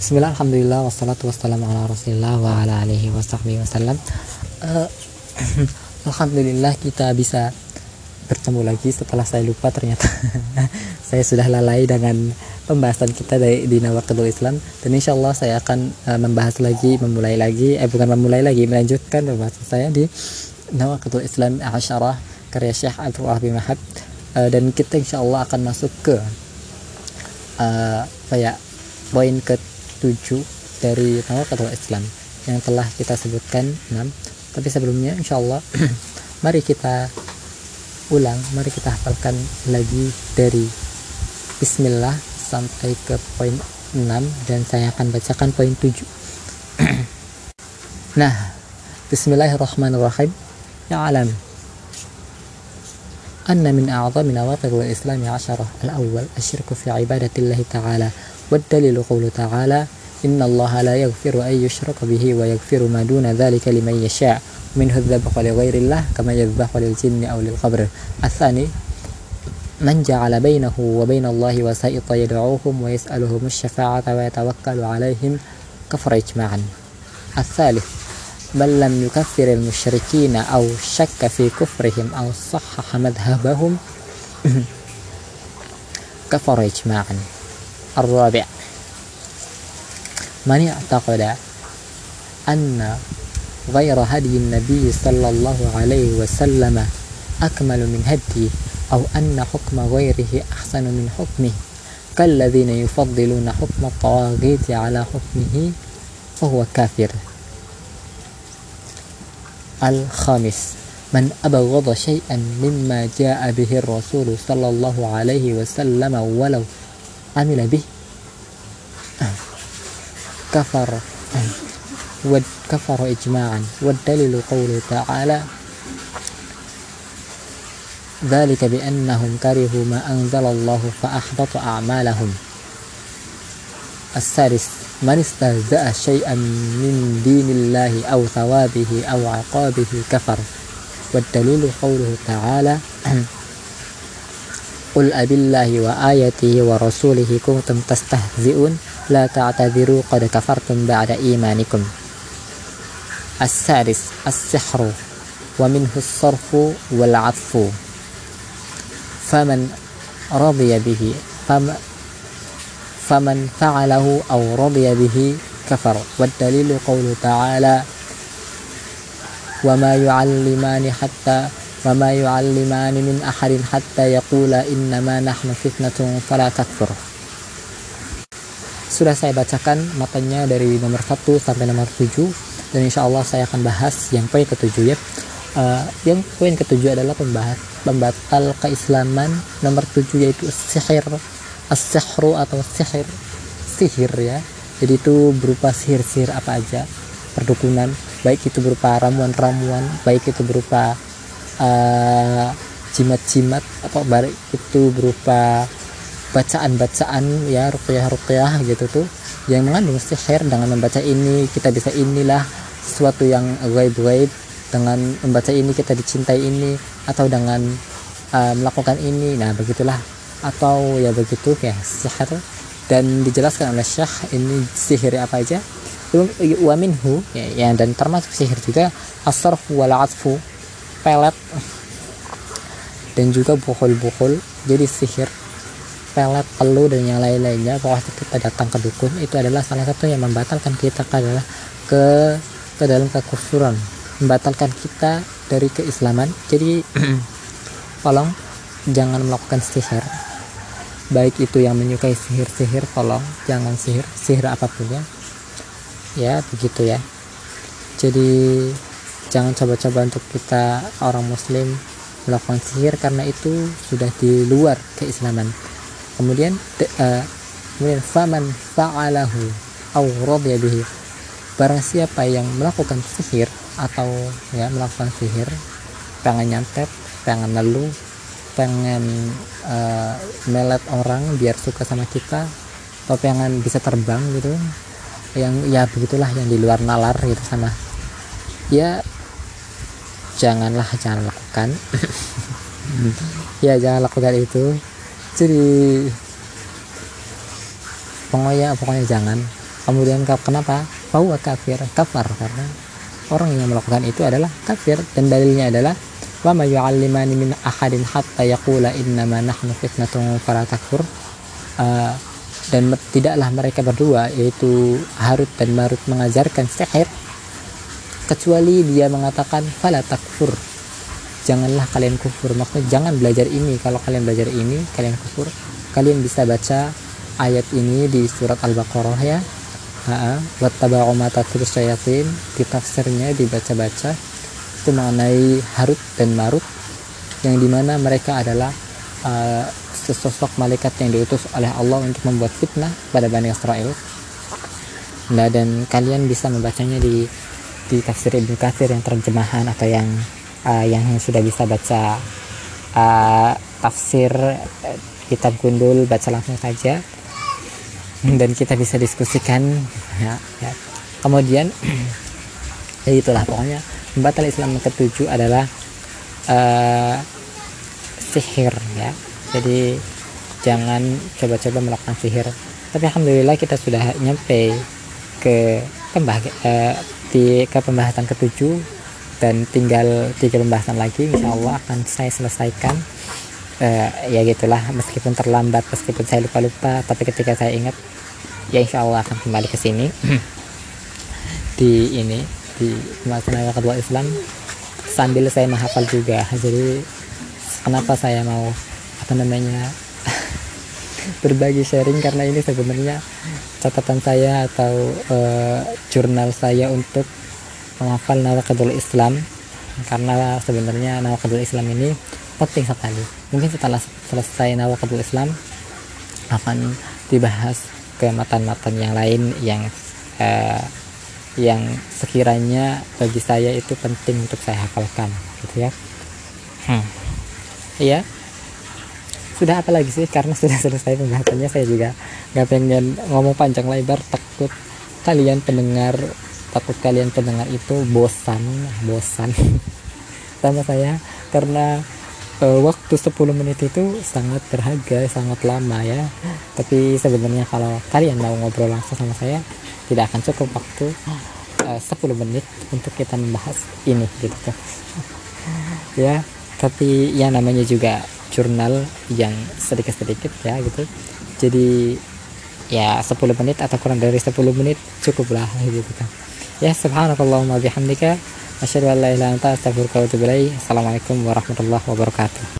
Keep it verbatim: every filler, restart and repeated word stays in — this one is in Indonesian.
Bismillah, alhamdulillah, wassalatu wassalamu ala rasulillah wa ala alihi wa sahbihi wasallam. uh, Alhamdulillah kita bisa bertemu lagi setelah saya lupa ternyata saya sudah lalai dengan pembahasan kita dari di Nawaqidul Islam, dan insyaallah saya akan uh, membahas lagi, memulai lagi, eh bukan memulai lagi, melanjutkan pembahasan saya di Nawaqidul Islam Asyarah karya Syekh Abdul Wahab bin Wahab. uh, dan kita insyaallah akan masuk ke uh, kayak poin ke tujuh dari Nawaqidul Islam yang telah kita sebutkan enam. Tapi sebelumnya insyaallah mari kita ulang, mari kita hafalkan lagi dari Bismillah sampai ke poin enam, dan saya akan bacakan poin tujuh. Nah, Bismillahirrahmanirrahim. Ya'lam anna min a'zami nawaqidil Islam asyarah. Al-awwal asyirku fi ibadatillahi ta'ala. والدليل قوله تعالى إن الله لا يغفر أن يشرك به ويغفر ما دون ذلك لمن يشاء منه الذبح لغير الله كما يذبح للجن أو للقبر. الثاني من جعل بينه وبين الله وسائط يدعوهم ويسألهم الشفاعة ويتوكل عليهم كفر إجماعا. الثالث من لم يكفر المشركين أو شك في كفرهم أو صحح مذهبهم كفر إجماعا. الرابع من اعتقد أن غير هدي النبي صلى الله عليه وسلم أكمل من هديه أو أن حكم غيره أحسن من حكمه كالذين يفضلون حكم الطواغيت على حكمه فهو كافر. الخامس من أبغض شيئا مما جاء به الرسول صلى الله عليه وسلم ولو عمل به كفر وكفر إجماعا. والدليل قوله تعالى ذلك بأنهم كرهوا ما أنزل الله فأحبط أعمالهم. السادس من استهزأ شيئا من دين الله أو ثوابه أو عقابه كفر. والدليل قوله تعالى قل أبالله وآياته ورسوله كنتم تستهزئون لا تعتذروا قد كفرتم بعد إيمانكم. السادس السحر ومنه الصرف والعطف فمن رضي به فمن فعله أو رضي به كفر. والدليل قوله تعالى وما يعلمان حتى وما يعلمان من أحد حتى يقولا إنما نحن فتنة فلا تكفر. Sudah saya bacakan matanya dari nomor satu sampai nomor tujuh, dan insya Allah saya akan bahas yang poin ketujuh ya. Uh, yang poin ketujuh adalah pembahas pembatal keislaman nomor tujuh, yaitu sihir, as-sihru atau sihir, sihir ya. Jadi itu berupa sihir-sihir apa aja, perdukunan, baik itu berupa ramuan-ramuan, baik itu berupa uh, jimat-jimat, atau baik itu berupa bacaan-bacaan ya, ruqyah-ruqyah gitu tuh yang mengandung sihir. Dengan membaca ini kita bisa inilah sesuatu yang gaib-gaib, dengan membaca ini kita dicintai ini, atau dengan uh, melakukan ini, nah begitulah, atau ya begitu ya sihir. Dan dijelaskan oleh Syekh ini sihir apa aja. Wa minhu ya, ya, dan termasuk sihir juga as-sarfu wal atfu, pelet, dan juga bukhul-bukhul. Jadi sihir, pelet, peluh, dan yang lain-lainnya, pokoknya kita datang ke dukun, itu adalah salah satu yang membatalkan kita adalah ke ke dalam kekufuran, membatalkan kita dari keislaman. Jadi tolong jangan melakukan sihir, baik itu yang menyukai sihir-sihir, tolong jangan sihir, sihir apapun ya, ya begitu ya. Jadi jangan coba-coba untuk kita orang muslim melakukan sihir, karena itu sudah di luar keislaman. Kemudian uh, kemudian faman fa'alahu aw radiya bihi, barang siapa yang melakukan sihir atau ya melakukan sihir, pengen nyantet, pengen nelu, pengen uh, melet orang biar suka sama kita, atau pengen bisa terbang gitu, yang ya begitulah, yang di luar nalar gitu sama ya, janganlah, jangan lakukan. Ya jangan lakukan itu. Jadi pokoknya pokoknya jangan Kemudian kenapa? Bahwa kafir, kafar, karena orang yang melakukan itu adalah kafir. Dan dalilnya adalah wa ma yu'allimani min ahadin hatta yaqula innama nahnu fitnatun fala takfur. Uh, dan tidaklah mereka berdua, yaitu Harut dan Marut, mengajarkan sihir kecuali dia mengatakan fala takfur, janganlah kalian kufur. Maksudnya jangan belajar ini, kalau kalian belajar ini kalian kufur. Kalian bisa baca ayat ini di surat Al-Baqarah ya, wattaba'u ma tatlu syayatin, di tafsirnya dibaca-baca itu mengenai Harut dan Marut, yang dimana mereka adalah uh, sesosok malaikat yang diutus oleh Allah untuk membuat fitnah pada Bani Israel. Nah, dan kalian bisa membacanya di di tafsir Ibnu Katsir yang terjemahan, atau yang uh, yang sudah bisa baca uh, tafsir uh, kitab Gundul, baca langsung saja dan kita bisa diskusikan ya, ya. Kemudian ya itulah pokoknya pembatal Islam yang ketujuh adalah uh, sihir ya. Jadi jangan coba-coba melakukan sihir. Tapi alhamdulillah kita sudah nyampe ke pembah uh, di ke pembahasan ketujuh, dan tinggal tiga pembahasan lagi insya Allah akan saya selesaikan. Uh, ya gitulah, meskipun terlambat, meskipun saya lupa-lupa, tapi ketika saya ingat ya insya Allah akan kembali ke sini di ini di pembahasan awal kedua Islam, sambil saya menghafal juga. Jadi kenapa saya mau apa namanya berbagi sharing, karena ini sebenarnya catatan saya atau uh, jurnal saya untuk menghafal Nawaqidul Islam, karena sebenarnya Nawaqidul Islam ini penting sekali. Mungkin setelah selesai Nawaqidul Islam akan dibahas ke matan-matan yang lain yang uh, yang sekiranya bagi saya itu penting untuk saya hafalkan gitu ya. Hmm. Iya. Sudah apa lagi sih, karena sudah selesai pembahasannya. Saya juga nggak pengen ngomong panjang lebar, takut kalian pendengar takut kalian pendengar itu bosan bosan sama saya, karena uh, waktu sepuluh menit itu sangat berharga, sangat lama ya. Tapi sebenarnya kalau kalian mau ngobrol langsung sama saya, tidak akan cukup waktu uh, sepuluh menit untuk kita membahas ini gitu kan ya. Tapi ya namanya juga jurnal yang sedikit-sedikit ya gitu. Jadi ya sepuluh menit atau kurang dari sepuluh menit cukuplah gitu kan. Ya, subhanakallahumma bihamdika asyhadu an la ilaha illa anta astaghfiruka wa atubu ilaik. Assalamualaikum warahmatullahi wabarakatuh.